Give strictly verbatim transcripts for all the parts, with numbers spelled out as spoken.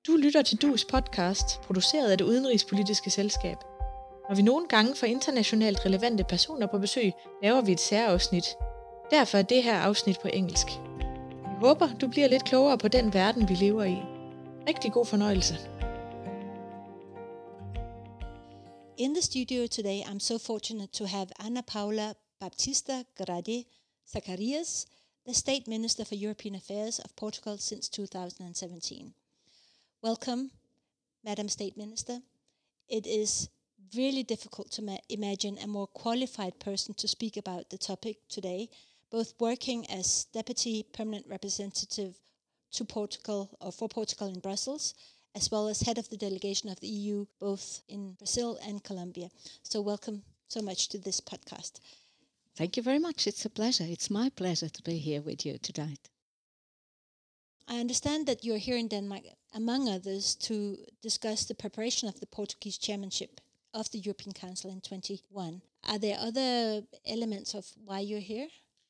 Du lytter til D U's podcast, produceret af Det Udenrigspolitiske Selskab. Når vi nogle gange får internationalt relevante personer på besøg, laver vi et særafsnit. Derfor er det her afsnit på engelsk. Vi håber, du bliver lidt klogere på den verden, vi lever i. Rigtig god fornøjelse. In the studio today, I'm so fortunate to have Ana Paula Baptista Grade Zacarias, the State Minister for European Affairs of Portugal since two thousand seventeen. Welcome, Madam State Minister. It is really difficult to ma- imagine a more qualified person to speak about the topic today, both working as Deputy Permanent Representative to Portugal or for Portugal in Brussels, as well as head of the delegation of the E U, both in Brazil and Colombia. So welcome so much to this podcast. Thank you very much. It's a pleasure. It's my pleasure to be here with you tonight. I understand that you're here in Denmark, among others, to discuss the preparation of the Portuguese chairmanship of the European Council in twenty-one. Are there other elements of why you're here?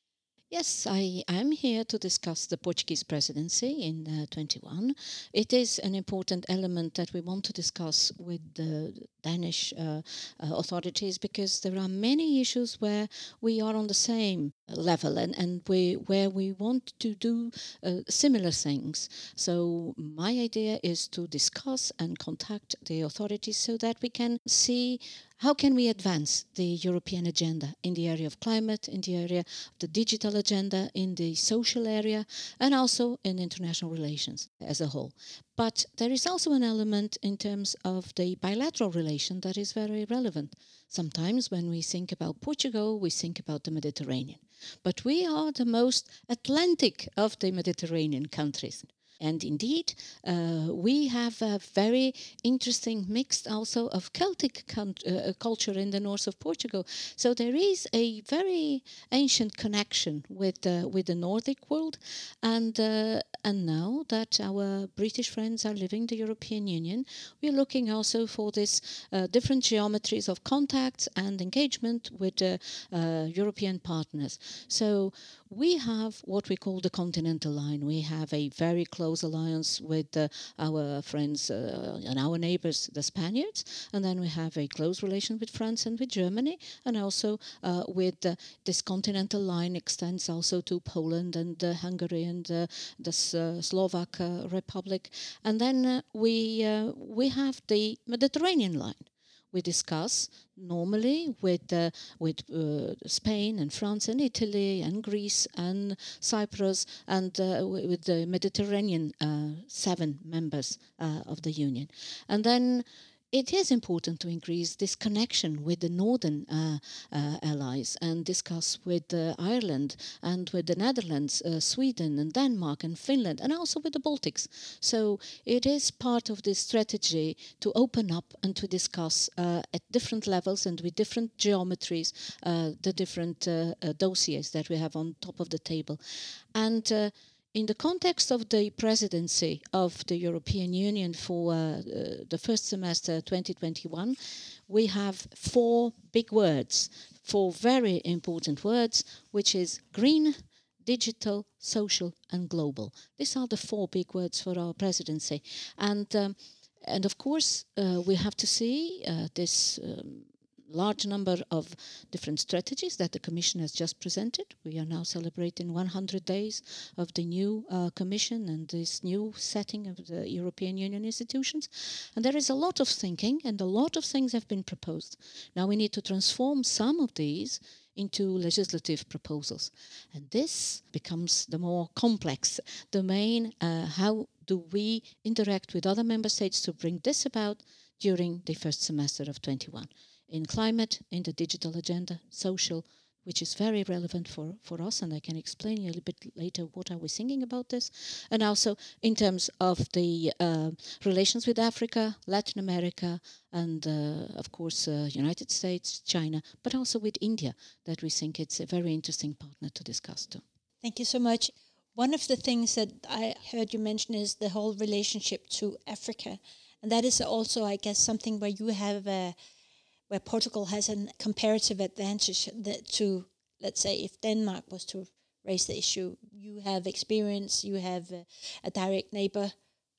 Yes, I am here to discuss the Portuguese presidency in uh, twenty-one. It is an important element that we want to discuss with the Danish uh, uh, authorities because there are many issues where we are on the same level and, and we where we want to do uh, similar things. So my idea is to discuss and contact the authorities so that we can see how can we advance the European agenda in the area of climate, in the area of the digital agenda, in the social area, and also in international relations as a whole. But there is also an element in terms of the bilateral relation that is very relevant. Sometimes when we think about Portugal, we think about the Mediterranean. But we are the most Atlantic of the Mediterranean countries. And indeed, uh, we have a very interesting mix also of Celtic con- uh, culture in the north of Portugal. So there is a very ancient connection with uh, with the Nordic world. And uh, and now that our British friends are leaving the European Union, we are looking also for this uh, different geometries of contacts and engagement with uh, uh, European partners. So we have what we call the Continental Line. We have a very close alliance with uh, our friends uh, and our neighbors, the Spaniards, and then we have a close relation with France and with Germany, and also uh, with uh, this Continental Line extends also to Poland and uh, Hungary and uh, the uh, Slovak uh, Republic, and then uh, we uh, we have the Mediterranean Line. We discuss normally with uh, with uh, Spain and France and Italy and Greece and Cyprus and uh, with the Mediterranean uh, seven members uh, of the Union. And then it is important to increase this connection with the northern uh, uh, allies and discuss with uh, Ireland and with the Netherlands, uh, Sweden and Denmark and Finland and also with the Baltics. So it is part of this strategy to open up and to discuss uh, at different levels and with different geometries uh, the different uh, uh, dossiers that we have on top of the table. And uh, in the context of the presidency of the European Union for uh, uh, the first semester twenty twenty-one, we have four big words, four very important words, which is green, digital, social and global. These are the four big words for our presidency. And, um, and of course, uh, we have to see uh, this um, large number of different strategies that the Commission has just presented. We are now celebrating one hundred days of the new uh, Commission and this new setting of the European Union institutions. And there is a lot of thinking and a lot of things have been proposed. Now we need to transform some of these into legislative proposals. And this becomes the more complex domain. Uh, how do we interact with other member states to bring this about during the first semester of twenty-one? In climate, in the digital agenda, social, which is very relevant for, for us, and I can explain you a little bit later what are we thinking about this, and also in terms of the uh, relations with Africa, Latin America, and uh, of course uh, United States, China, but also with India, that we think it's a very interesting partner to discuss too. Thank you so much. One of the things that I heard you mention is the whole relationship to Africa, and that is also, I guess, something where you have a where Portugal has a comparative advantage that to, let's say, if Denmark was to raise the issue, you have experience, you have a, a direct neighbor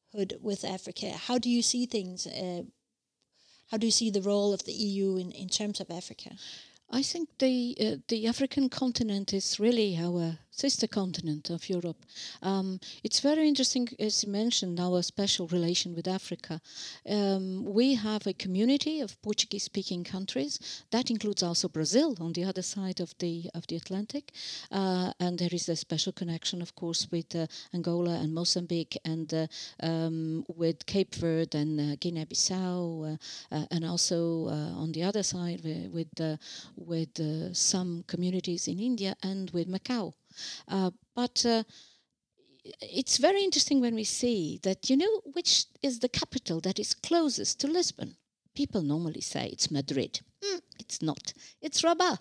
with Africa. How do you see things? Uh, how do you see the role of the E U in, in terms of Africa? I think the uh, the African continent is really our sister continent of Europe. Um, it's very interesting, as you mentioned, our special relation with Africa. Um, we have a community of Portuguese-speaking countries. That includes also Brazil on the other side of the of the Atlantic, uh, and there is a special connection, of course, with uh, Angola and Mozambique, and uh, um, with Cape Verde and uh, Guinea-Bissau, uh, uh, and also uh, on the other side with, with uh, with uh, some communities in India and with Macau. Uh, but uh, it's very interesting when we see that, you know, which is the capital that is closest to Lisbon. People normally say it's Madrid. Mm, it's not. It's Rabat.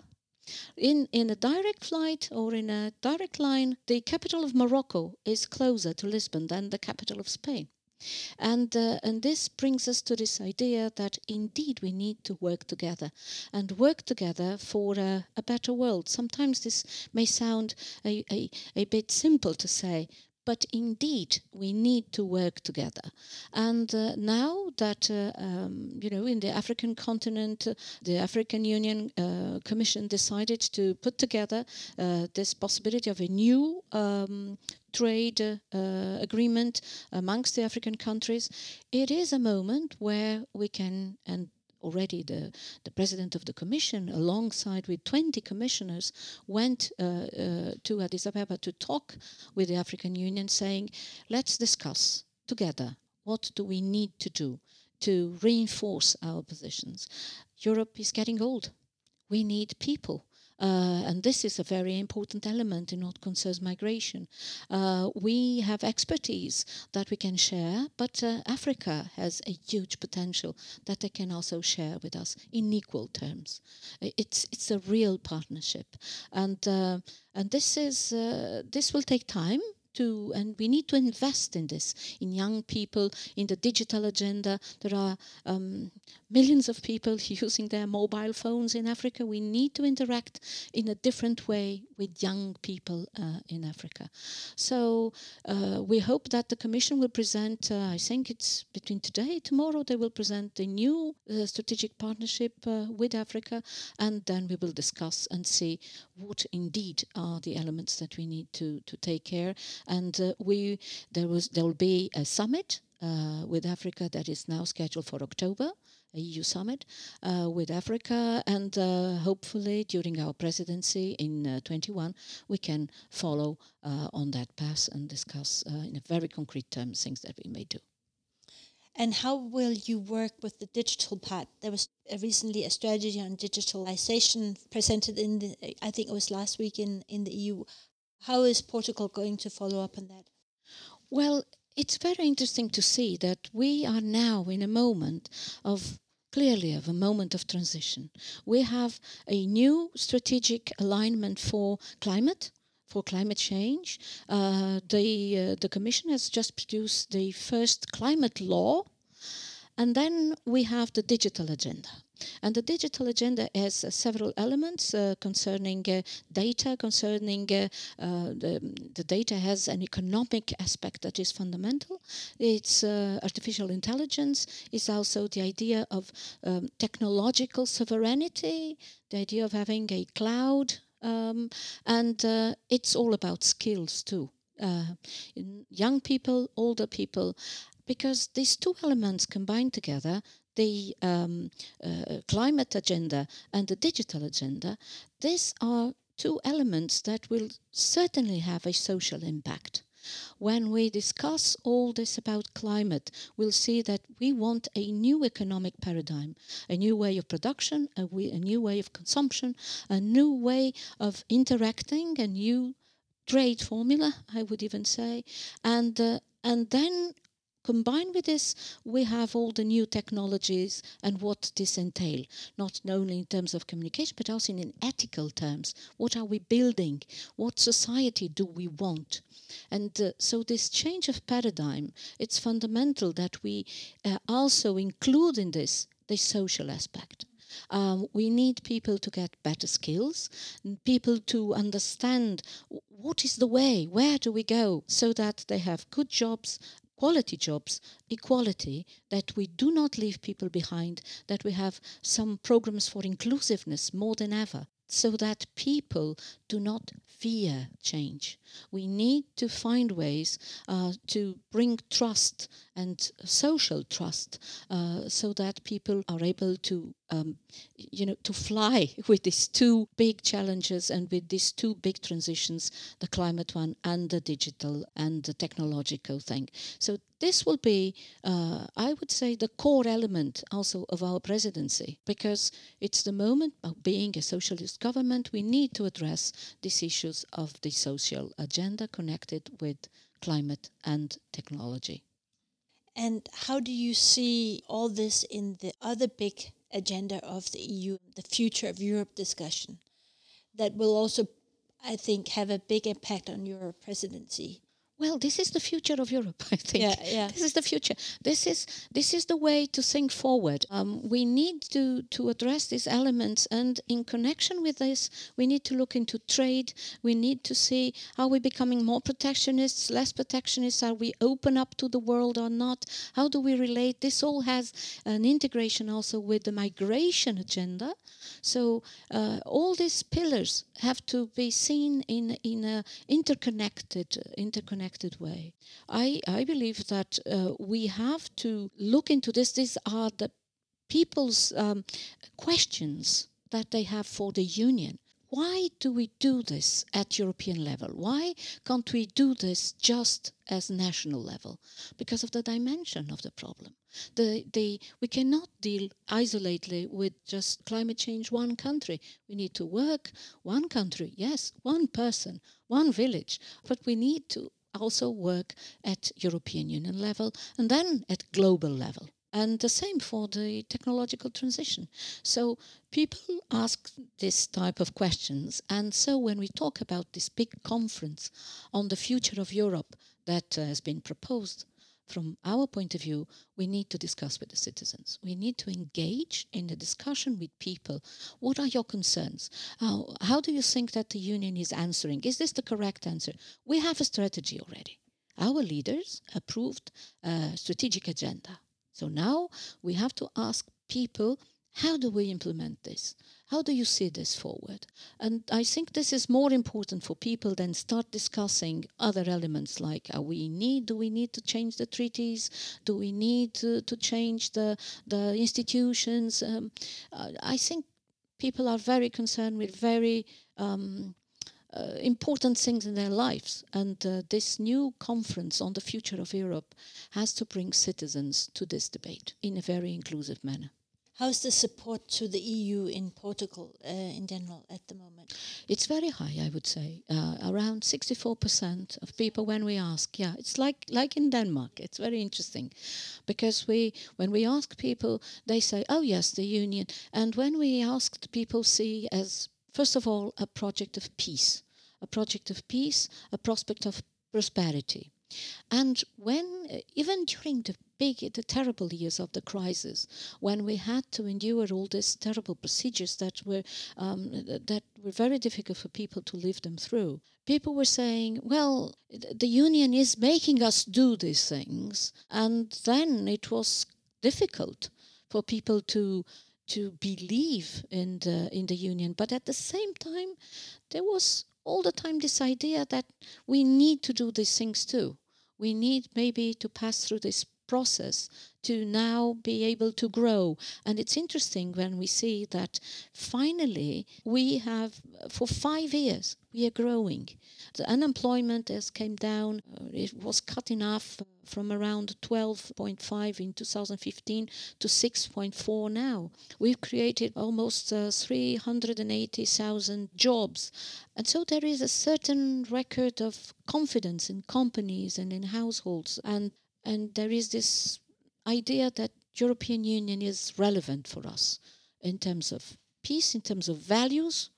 In, in a direct flight or in a direct line, the capital of Morocco is closer to Lisbon than the capital of Spain. And uh, and this brings us to this idea that indeed we need to work together and work together for a, a better world. Sometimes this may sound a, a, a bit simple to say, but indeed we need to work together. And uh, now that, uh, um, you know, in the African continent, uh, the African Union uh, Commission decided to put together uh, this possibility of a new um, trade uh, agreement amongst the African countries, it is a moment where we can, and already the, the president of the commission, alongside with twenty commissioners, went uh, uh, to Addis Ababa to talk with the African Union, saying, let's discuss together what do we need to do to reinforce our positions. Europe is getting old. We need people. Uh, and this is a very important element in what concerns migration. Uh, we have expertise that we can share, but uh, Africa has a huge potential that they can also share with us in equal terms. It's it's a real partnership, and uh, and this is uh, this will take time. To, and we need to invest in this, in young people, in the digital agenda. There are um, millions of people using their mobile phones in Africa. We need to interact in a different way with young people uh, in Africa. So uh, we hope that the Commission will present, uh, I think it's between today and tomorrow, they will present the new uh, strategic partnership uh, with Africa, and then we will discuss and see what indeed are the elements that we need to, to take care. And uh, we there was there will be a summit uh, with Africa that is now scheduled for October, a E U summit uh, with Africa, and uh, hopefully during our presidency in uh, twenty-one we can follow uh, on that path and discuss uh, in a very concrete terms things that we may do. And how will you work with the digital part? There was uh, recently a strategy on digitalization presented in the, I think it was last week in, in the E U. How is Portugal going to follow up on that? Well, it's very interesting to see that we are now in a moment of, clearly of a moment of transition. We have a new strategic alignment for climate, for climate change. Uh, the, uh, the Commission has just produced the first climate law, and then we have the digital agenda. And the digital agenda has uh, several elements uh, concerning uh, data, concerning uh, uh, the, the data has an economic aspect that is fundamental. It's uh, artificial intelligence, is also the idea of um, technological sovereignty, the idea of having a cloud, um, and uh, it's all about skills too. Uh, young people, older people, because these two elements combined together, the um, uh, climate agenda and the digital agenda, these are two elements that will certainly have a social impact. When we discuss all this about climate, we'll see that we want a new economic paradigm, a new way of production, a, way, a new way of consumption, a new way of interacting, a new trade formula, I would even say, and uh, and then combined with this, we have all the new technologies and what this entails, not only in terms of communication, but also in ethical terms. What are we building? What society do we want? And uh, so this change of paradigm, it's fundamental that we uh, also include in this the social aspect. Um, we need people to get better skills, people to understand what is the way, where do we go, so that they have good jobs, quality jobs, equality, that we do not leave people behind, that we have some programs for inclusiveness more than ever, so that people do not fear change. We need to find ways uh, to bring trust and social trust uh, so that people are able to um, you know, to fly with these two big challenges and with these two big transitions, the climate one and the digital and the technological thing. So this will be, uh, I would say, the core element also of our presidency, because it's the moment of being a socialist government. We need to address these issues of the social agenda connected with climate and technology. And how do you see all this in the other big agenda of the E U, the Future of Europe discussion, that will also, I think, have a big impact on your presidency? Well, this is the future of Europe, I think. Yeah, yeah. This is the future. This is this is the way to think forward. Um, we need to, to address these elements, and in connection with this, we need to look into trade. We need to see, are we becoming more protectionists, less protectionists? Are we open up to the world or not? How do we relate? This all has an integration also with the migration agenda. So uh, all these pillars have to be seen in in a interconnected interconnected way. I, I believe that uh, we have to look into this. These are the people's um, questions that they have for the Union. Why do we do this at European level? Why can't we do this just as national level? Because of the dimension of the problem. The, the, we cannot deal isolatedly with just climate change one country. We need to work one country, yes, one person, one village, but we need to also work at European Union level and then at global level. And the same for the technological transition. So people ask this type of questions. And so when we talk about this big conference on the future of Europe that uh, has been proposed, from our point of view, we need to discuss with the citizens. We need to engage in a discussion with people. What are your concerns? How, how do you think that the Union is answering? Is this the correct answer? We have a strategy already. Our leaders approved a strategic agenda. So now we have to ask people, how do we implement this? How do you see this forward? And I think this is more important for people than start discussing other elements like are we need, do we need to change the treaties? Do we need to, to change the, the institutions? Um, I think people are very concerned with very um, uh, important things in their lives. And uh, this new conference on the future of Europe has to bring citizens to this debate in a very inclusive manner. How's the support to the E U in Portugal uh, in general at the moment? It's very high, I would say. Uh, around sixty-four percent of people when we ask, yeah, it's like like in Denmark. It's very interesting because we when we ask people, they say, oh yes, the Union. And when we ask, people see as, first of all, a project of peace, a project of peace, a prospect of prosperity. And when, even during the big, the terrible years of the crisis, when we had to endure all these terrible procedures that were um, that were very difficult for people to live them through, people were saying, well, the Union is making us do these things. And then it was difficult for people to to believe in the, in the Union. But at the same time, there was all the time this idea that we need to do these things too. We need maybe to pass through this process to now be able to grow. And it's interesting when we see that finally we have, for five years, we are growing. The unemployment has came down. It was cut in half from around twelve point five in two thousand fifteen to six point four now. We've created almost uh, three hundred eighty thousand jobs. And so there is a certain record of confidence in companies and in households. And, and there is this idea that European Union is relevant for us in terms of peace, in terms of values.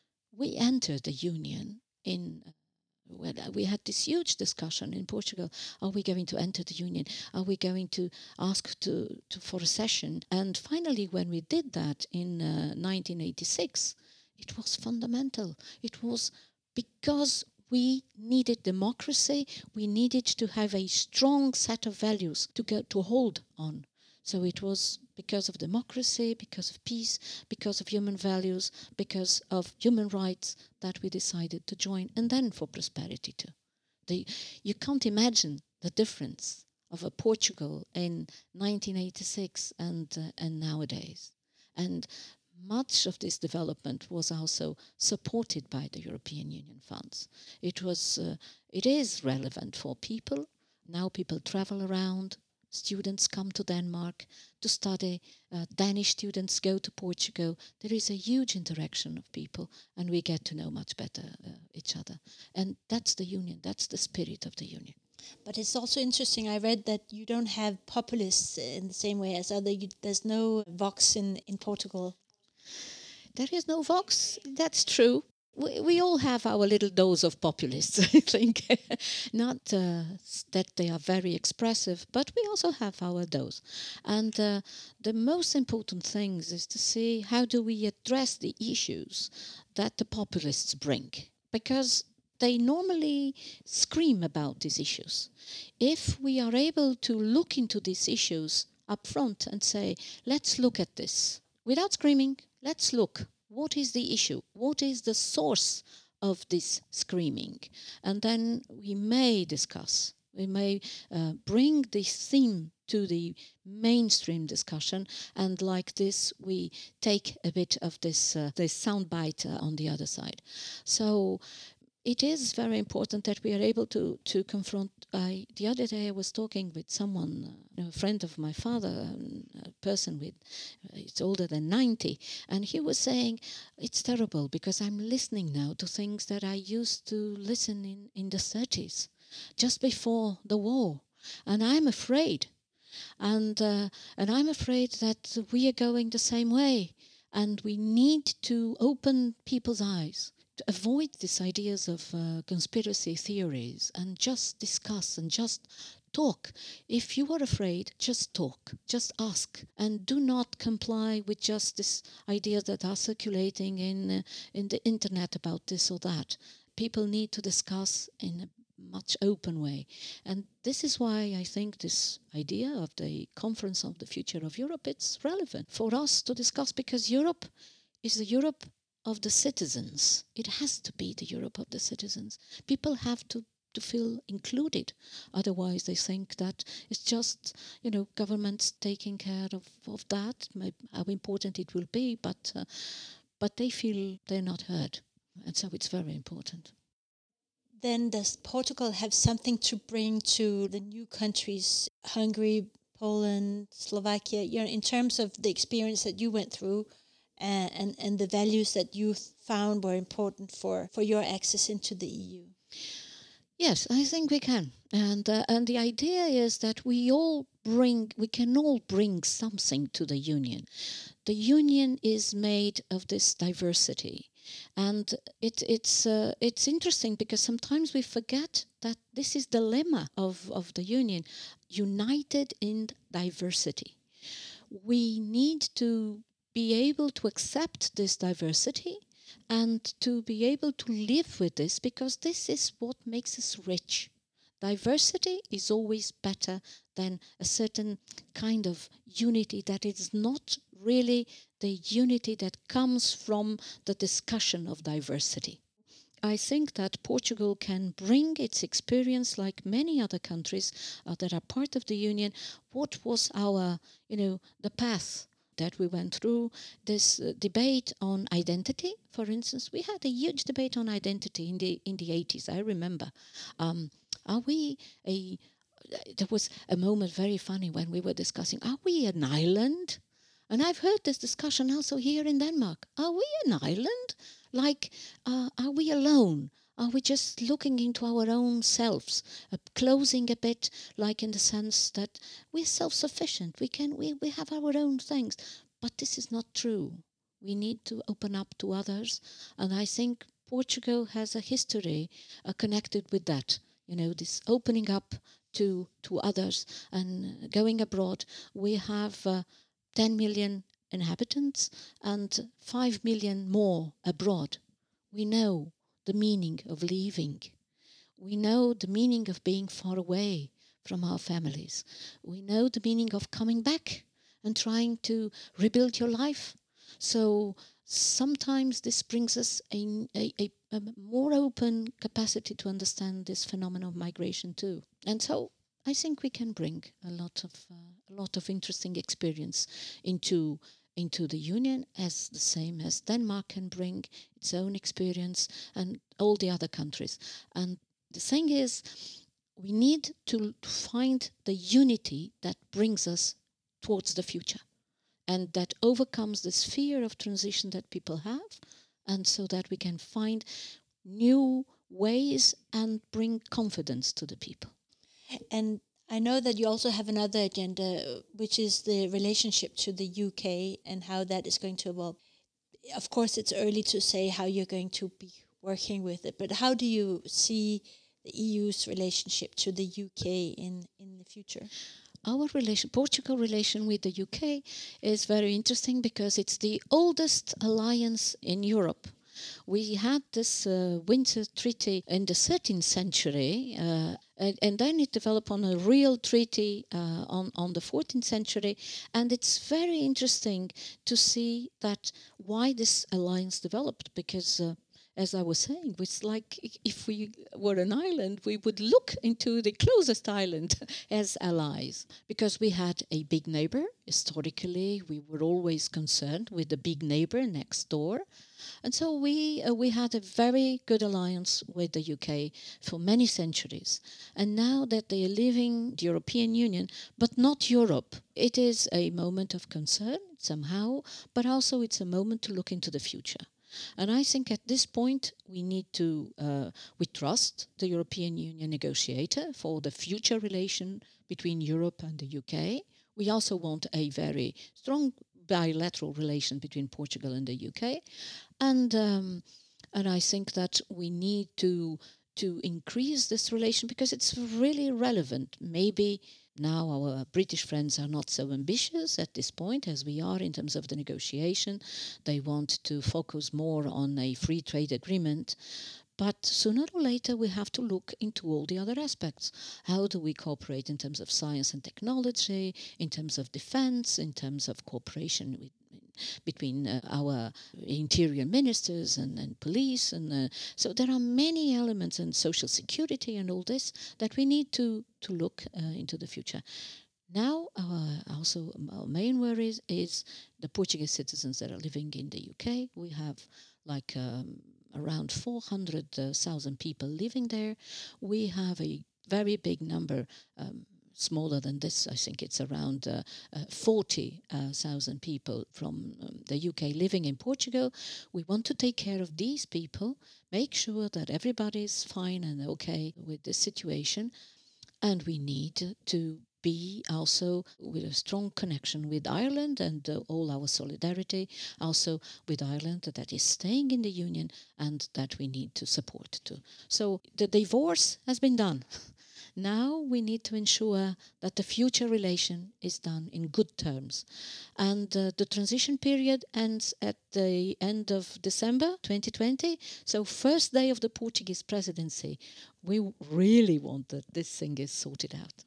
We entered the Union in... Well, we had this huge discussion in Portugal. Are we going to enter the Union? Are we going to ask to, to for a session? And finally, when we did that in uh, nineteen eighty-six, it was fundamental. It was because we needed democracy. We needed to have a strong set of values to go to hold on. So it was because of democracy, because of peace, because of human values, because of human rights that we decided to join, and then for prosperity too. The, you can't imagine the difference of a Portugal in nineteen eighty-six and uh, and nowadays. And much of this development was also supported by the European Union funds. It was, uh, it is relevant for people. Now people travel around. Students come to Denmark to study. Uh, Danish students go to Portugal. There is a huge interaction of people, and we get to know much better uh, each other. And that's the union. That's the spirit of the union. But it's also interesting. I read that you don't have populists in the same way as other. You, there's no Vox in, in Portugal. There is no Vox. That's true. We, we all have our little dose of populists, I think. Not uh, that they are very expressive, but we also have our dose. And uh, the most important thing is to see how do we address the issues that the populists bring. Because they normally scream about these issues. If we are able to look into these issues up front and say, let's look at this, without screaming, let's look. What is the issue? What is the source of this screaming? And then we may discuss. We may uh, bring this theme to the mainstream discussion, and like this, we take a bit of this uh, this soundbite uh, on the other side. So it is very important that we are able to to confront. I, the other day I was talking with someone, uh, a friend of my father, um, a person with, uh, it's older than ninety, and he was saying, it's terrible because I'm listening now to things that I used to listen in, in the thirties, just before the war, and I'm afraid. And, uh, and I'm afraid that we are going the same way, and we need to open people's eyes, to avoid these ideas of uh, conspiracy theories, and just discuss and just talk. If you are afraid, just talk, just ask, and do not comply with just these ideas that are circulating in uh, in the internet about this or that. People need to discuss in a much open way. And this is why I think this idea of the Conference on the Future of Europe, it's relevant for us to discuss, because Europe is the Europe of the citizens. It has to be the Europe of the citizens. People have to, to feel included. Otherwise, they think that it's just, you know, governments taking care of, of that, how important it will be, but uh, but they feel they're not heard. And so it's very important. Then does Portugal have something to bring to the new countries, Hungary, Poland, Slovakia, you know, in terms of the experience that you went through, uh, and, and the values that you found were important for, for your access into the E U? Yes, I think we can. And uh, and the idea is that we all bring, we can all bring something to the union. The union is made of this diversity. And it, it's uh, it's interesting because sometimes we forget that this is the lemma of, of the union, united in diversity. We need to be able to accept this diversity and to be able to live with this, because this is what makes us rich. Diversity is always better than a certain kind of unity that is not really the unity that comes from the discussion of diversity. I think that Portugal can bring its experience, like many other countries uh, that are part of the Union. What was our, you know, the path that we went through, this uh, debate on identity, for instance. We had a huge debate on identity in the in the eighties, I remember. Um, are we a... There was a moment very funny when we were discussing, are we an island? And I've heard this discussion also here in Denmark. Are we an island? Like, uh, are we alone? Are we just looking into our own selves, uh, closing a bit, like in the sense that we're self-sufficient, we can, we, we have our own things. But this is not true. We need to open up to others. And I think Portugal has a history uh, connected with that. You know, this opening up to, to others and going abroad. We have uh, ten million inhabitants and five million more abroad. We know the meaning of leaving We know the meaning of being far away from our families. We know the meaning of coming back and trying to rebuild your life. So sometimes this brings us a, a, a, a more open capacity to understand this phenomenon of migration too. And so I think we can bring a lot of uh, a lot of interesting experience into into the Union, as the same as Denmark can bring its own experience and all the other countries. And the thing is, we need to find the unity that brings us towards the future and that overcomes this fear of transition that people have, and so that we can find new ways and bring confidence to the people. And I know that you also have another agenda, which is the relationship to the U K and how that is going to evolve. Of course, it's early to say how you're going to be working with it, but how do you see the E U's relationship to the U K in, in the future? Our relation, Portugal relation with the U K is very interesting because it's the oldest alliance in Europe. We had this uh, Windsor Treaty in the thirteenth century, uh, and, and then it developed on a real treaty uh, on, on the fourteenth century. And it's very interesting to see that why this alliance developed, because uh, as I was saying, it's like if we were an island, we would look into the closest island as allies, because we had a big neighbor. Historically, we were always concerned with the big neighbor next door. And so we uh, we had a very good alliance with the U K for many centuries. And now that they are leaving the European Union, but not Europe, it is a moment of concern somehow, but also it's a moment to look into the future. And I think at this point we need to, uh, we trust the European Union negotiator for the future relation between Europe and the U K. We also want a very strong bilateral relation between Portugal and the U K. And um, and I think that we need to to increase this relation because it's really relevant. Maybe now our British friends are not so ambitious at this point as we are in terms of the negotiation. They want to focus more on a free trade agreement. But sooner or later we have to look into all the other aspects. How do we cooperate in terms of science and technology, in terms of defense, in terms of cooperation with between uh, our interior ministers and, and police. And uh, so there are many elements in social security and all this that we need to, to look uh, into the future. Now, our, also our main worry is, is the Portuguese citizens that are living in the U K. We have like um, around four hundred thousand people living there. We have a very big number, um, smaller than this, I think it's around uh, uh, forty thousand people from um, the U K living in Portugal. We want to take care of these people, make sure that everybody is fine and okay with this situation. And we need to be also with a strong connection with Ireland and uh, all our solidarity also with Ireland that is staying in the Union and that we need to support too. So the divorce has been done. Now we need to ensure that the future relation is done in good terms. And uh, the transition period ends at the end of December twenty twenty. So first day of the Portuguese presidency, we really want that this thing is sorted out.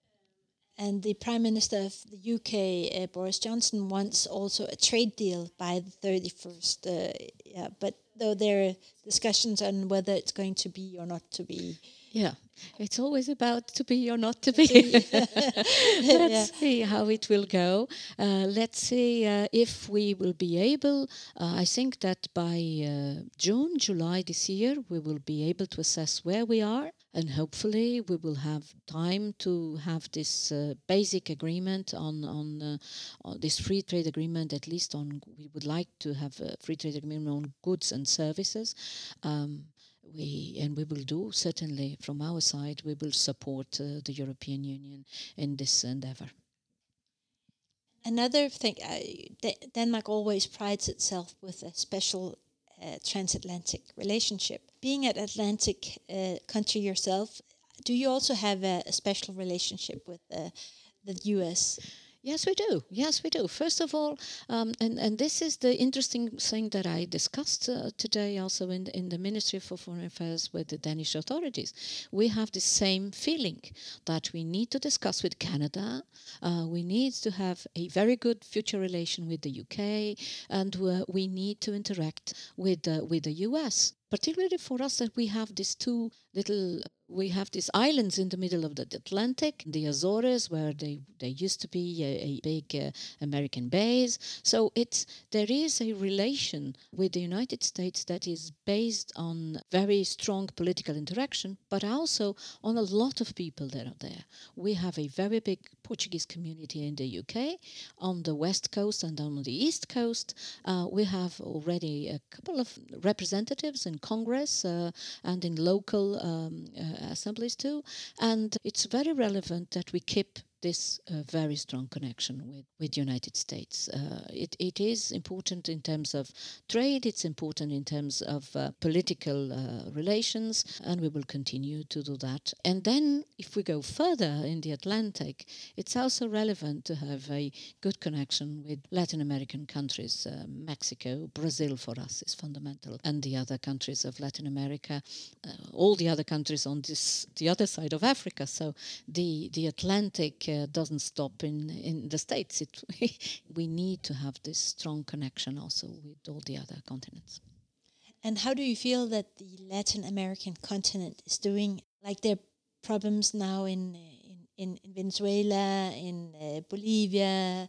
And the Prime Minister of the U K, uh, Boris Johnson, wants also a trade deal by the thirty-first. Uh, yeah, but though there are discussions on whether it's going to be or not to be. Yeah, it's always about to be or not to be. Let's yeah. see how it will go. Uh, let's see uh, if we will be able. Uh, I think that by uh, June, July this year, we will be able to assess where we are. And hopefully we will have time to have this uh, basic agreement on, on, uh, on this free trade agreement, at least on, we would like to have a free trade agreement on goods and services. Um, We and we will do, certainly from our side, we will support uh, the European Union in this endeavour. Another thing, uh, D- Denmark always prides itself with a special uh, transatlantic relationship. Being an Atlantic uh, country yourself, do you also have a, a special relationship with uh, the U S? Yes, we do. Yes, we do. First of all, um, and, and this is the interesting thing that I discussed uh, today also in, in the Ministry for Foreign Affairs with the Danish authorities. We have the same feeling that we need to discuss with Canada. Uh, we need to have a very good future relation with the U K, and uh, we need to interact with, uh, with the U S. Particularly for us that we have these two little, we have these islands in the middle of the Atlantic, the Azores, where they, they used to be a, a big uh, American base. So it's there is a relation with the United States that is based on very strong political interaction, but also on a lot of people that are there. We have a very big Portuguese community in the U K, on the west coast and on the east coast. Uh, we have already a couple of representatives in Congress uh, and in local um, uh, assemblies too. And it's very relevant that we keep this uh, very strong connection with with United States. Uh, it, it is important in terms of trade, it's important in terms of uh, political uh, relations, and we will continue to do that. And then if we go further in the Atlantic, it's also relevant to have a good connection with Latin American countries. Uh, Mexico, Brazil for us is fundamental, and the other countries of Latin America, uh, all the other countries on this the other side of Africa. So the, the Atlantic uh, doesn't stop in, in the States. It, we need to have this strong connection also with all the other continents. And how do you feel that the Latin American continent is doing? Like there are problems now in in, in Venezuela, in uh, Bolivia.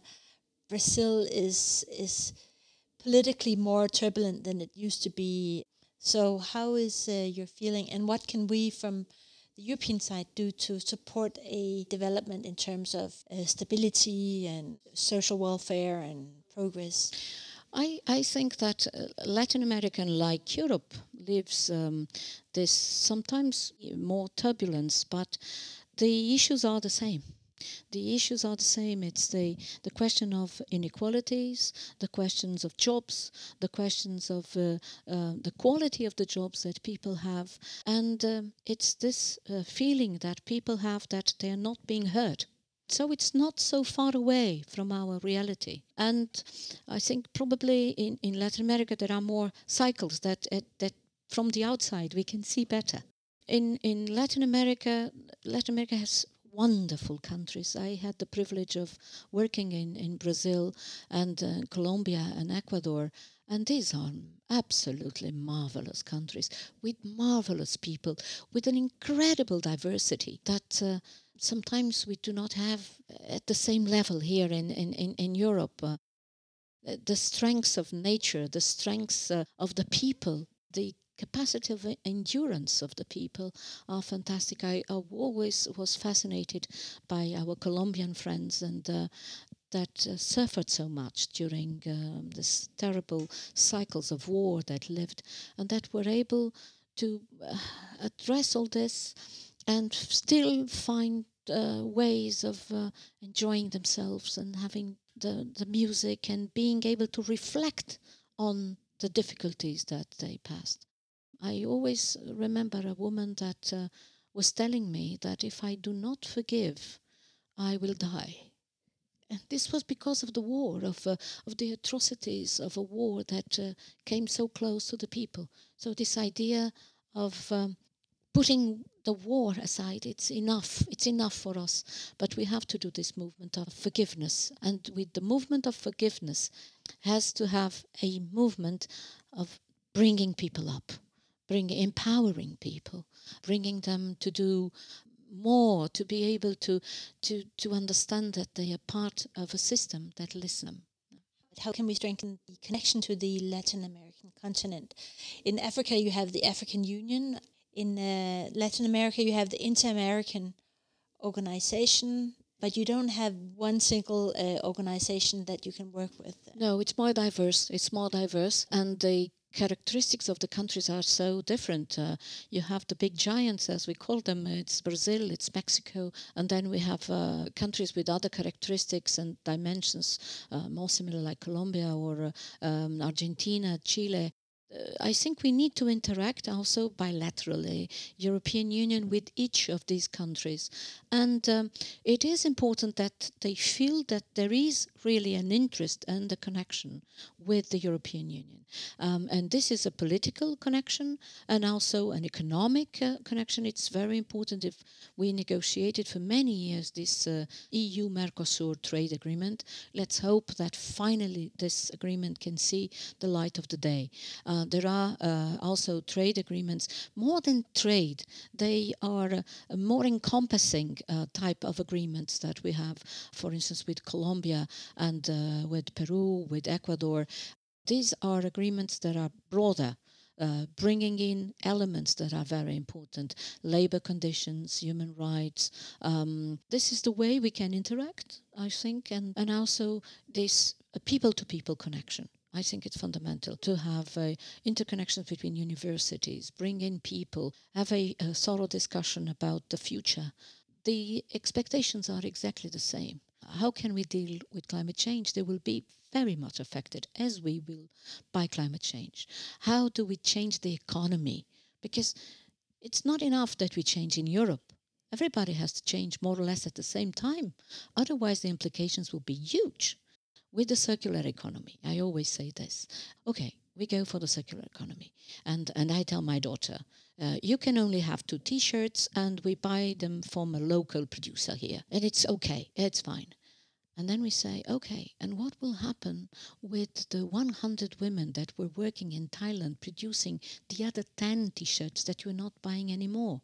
Brazil is is politically more turbulent than it used to be. So how is uh, your feeling, and what can we from the European side do to support a development in terms of uh, stability and social welfare and progress? I, I think that uh, Latin America, like Europe, lives um, this sometimes more turbulence, but the issues are the same. The issues are the same. It's the, the question of inequalities, the questions of jobs, the questions of uh, uh, the quality of the jobs that people have. And um, it's this uh, feeling that people have that they are not being heard. So it's not so far away from our reality. And I think probably in, in Latin America there are more cycles that, uh, that from the outside we can see better. In, in Latin America, Latin America has wonderful countries. I had the privilege of working in, in Brazil and uh, Colombia and Ecuador, and these are absolutely marvelous countries with marvelous people, with an incredible diversity that uh, sometimes we do not have at the same level here in, in, in, in Europe. Uh, the strengths of nature, the strengths uh, of the people, the capacity of endurance of the people are fantastic. I, I always was fascinated by our Colombian friends and uh, that uh, suffered so much during um, this terrible cycles of war that lived, and that were able to uh, address all this and still find uh, ways of uh, enjoying themselves and having the, the music and being able to reflect on the difficulties that they passed. I always remember a woman that uh, was telling me that if I do not forgive, I will die. And this was because of the war, of uh, of the atrocities of a war that uh, came so close to the people. So this idea of um, putting the war aside, it's enough, it's enough for us. But we have to do this movement of forgiveness. And with the movement of forgiveness has to have a movement of bringing people up. Bring, empowering people, bringing them to do more, to be able to, to, to understand that they are part of a system that listens. How can we strengthen the connection to the Latin American continent? In Africa, you have the African Union. In uh, Latin America, you have the Inter-American Organization, but you don't have one single uh, organization that you can work with. No, it's more diverse. It's more diverse, and the characteristics of the countries are so different. Uh, you have the big giants, as we call them. It's Brazil, it's Mexico, and then we have uh, countries with other characteristics and dimensions, uh, more similar like Colombia or uh, um, Argentina, Chile. I think we need to interact also bilaterally, European Union with each of these countries. And um, it is important that they feel that there is really an interest and a connection with the European Union. Um, and this is a political connection and also an economic uh, connection. It's very important. If we negotiated for many years this uh, E U-Mercosur trade agreement, let's hope that finally this agreement can see the light of the day. Uh, there are uh, also trade agreements, more than trade, they are uh, more encompassing uh, type of agreements that we have, for instance, with Colombia and uh, with Peru, with Ecuador. These are agreements that are broader, uh, bringing in elements that are very important, labor conditions, human rights. Um, this is the way we can interact, I think, and, and also this uh, people-to-people connection. I think it's fundamental to have uh, interconnections between universities, bring in people, have a, a thorough discussion about the future. The expectations are exactly the same. How can we deal with climate change? They will be very much affected, as we will, by climate change. How do we change the economy? Because it's not enough that we change in Europe. Everybody has to change more or less at the same time. Otherwise, the implications will be huge. With the circular economy, I always say this. Okay, we go for the circular economy. And, and I tell my daughter, uh, you can only have two T-shirts and we buy them from a local producer here. And it's okay, it's fine. And then we say, okay, and what will happen with the one hundred women that were working in Thailand producing the other ten T-shirts that you're not buying anymore?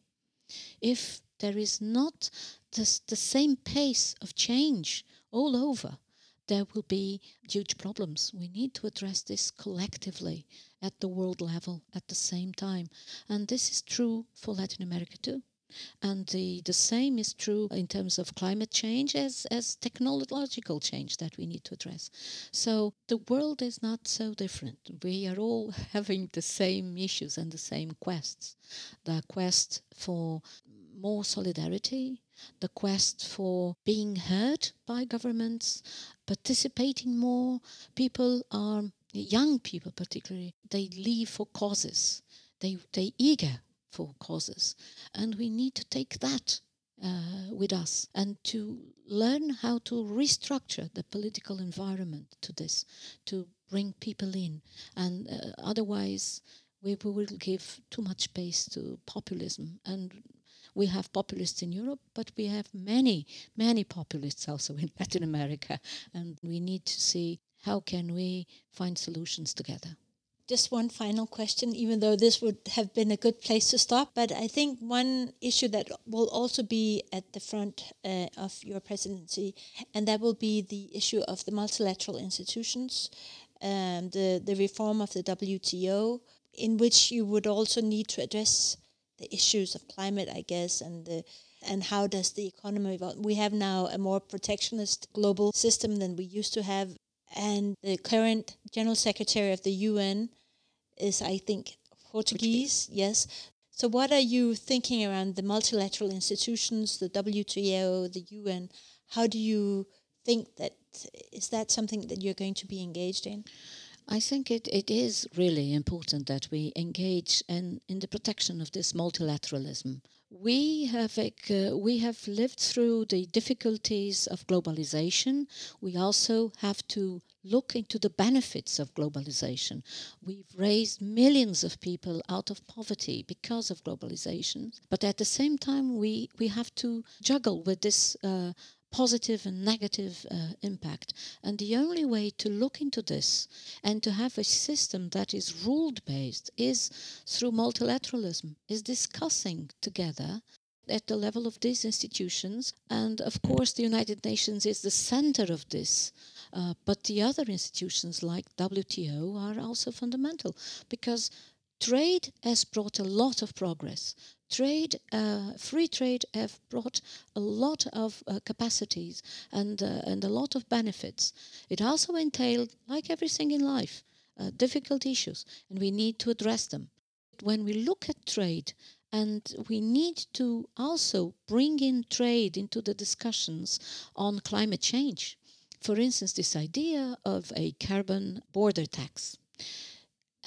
If there is not this, the same pace of change all over, there will be huge problems. We need to address this collectively at the world level at the same time. And this is true for Latin America too. And the, the same is true in terms of climate change as, as technological change that we need to address. So the world is not so different. We are all having the same issues and the same quests. The quest for more solidarity, the quest for being heard by governments, participating more. People are, young people particularly, they live for causes. They, they eager for causes. And we need to take that uh, with us and to learn how to restructure the political environment to this, to bring people in. And uh, otherwise, we, we will give too much space to populism. And we have populists in Europe, but we have many, many populists also in Latin America. And we need to see how can we find solutions together. Just one final question, even though this would have been a good place to stop. But I think one issue that will also be at the front uh, of your presidency, and that will be the issue of the multilateral institutions, um, the, the reform of the W T O, in which you would also need to address the issues of climate, I guess, and the, and how does the economy evolve. We have now a more protectionist global system than we used to have. And the current General Secretary of the U N is, I think, Portuguese, Portuguese, yes. So what are you thinking around the multilateral institutions, the W T O, the U N? How do you think that, is that something that you're going to be engaged in? I think it, it is really important that we engage in, in the protection of this multilateralism. We have uh, we have lived through the difficulties of globalization. We also have to look into the benefits of globalization. We've raised millions of people out of poverty because of globalization. But at the same time, we, we have to juggle with this uh, positive and negative uh, impact. And the only way to look into this and to have a system that is rule-based is through multilateralism, is discussing together at the level of these institutions. And of course, the United Nations is the center of this. Uh, but the other institutions like W T O are also fundamental because trade has brought a lot of progress. Trade, uh, free trade have brought a lot of uh, capacities and uh, and a lot of benefits. It also entailed, like everything in life, uh, difficult issues, and we need to address them. When we look at trade, and we need to also bring in trade into the discussions on climate change. For instance, this idea of a carbon border tax.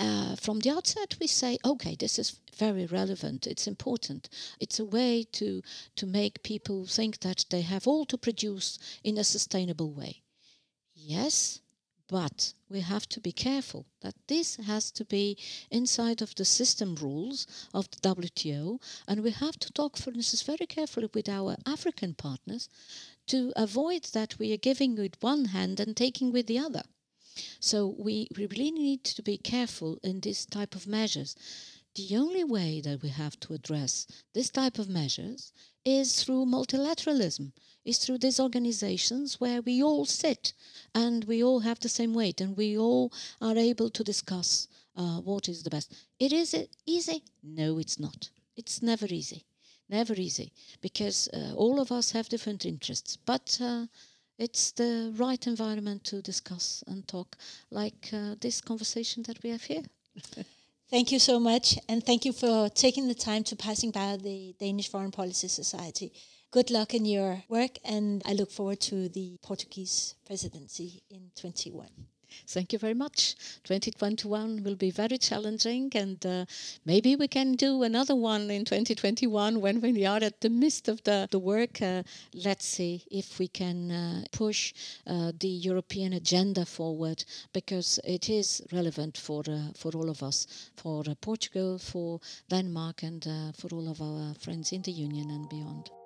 uh, from the outset we say, okay, this is very relevant, it's important. It's a way to, to make people think that they have all to produce in a sustainable way. Yes, but we have to be careful that this has to be inside of the system rules of the W T O, and we have to talk, for instance, very carefully with our African partners to avoid that we are giving with one hand and taking with the other. So we, we really need to be careful in this type of measures. The only way that we have to address this type of measures is through multilateralism, is through these organizations where we all sit and we all have the same weight and we all are able to discuss uh, what is the best. It is it easy? No, it's not. It's never easy. Never easy, because uh, all of us have different interests. But uh, it's the right environment to discuss and talk, like uh, this conversation that we have here. Thank you so much, and thank you for taking the time to passing by the Danish Foreign Policy Society. Good luck in your work, and I look forward to the Portuguese presidency in twenty-one. Thank you very much. twenty twenty-one will be very challenging, and uh, maybe we can do another one in twenty twenty-one when we are at the midst of the, the work. Uh, let's see if we can uh, push uh, the European agenda forward, because it is relevant for uh, for all of us, for uh, Portugal, for Denmark, and uh, for all of our friends in the Union and beyond.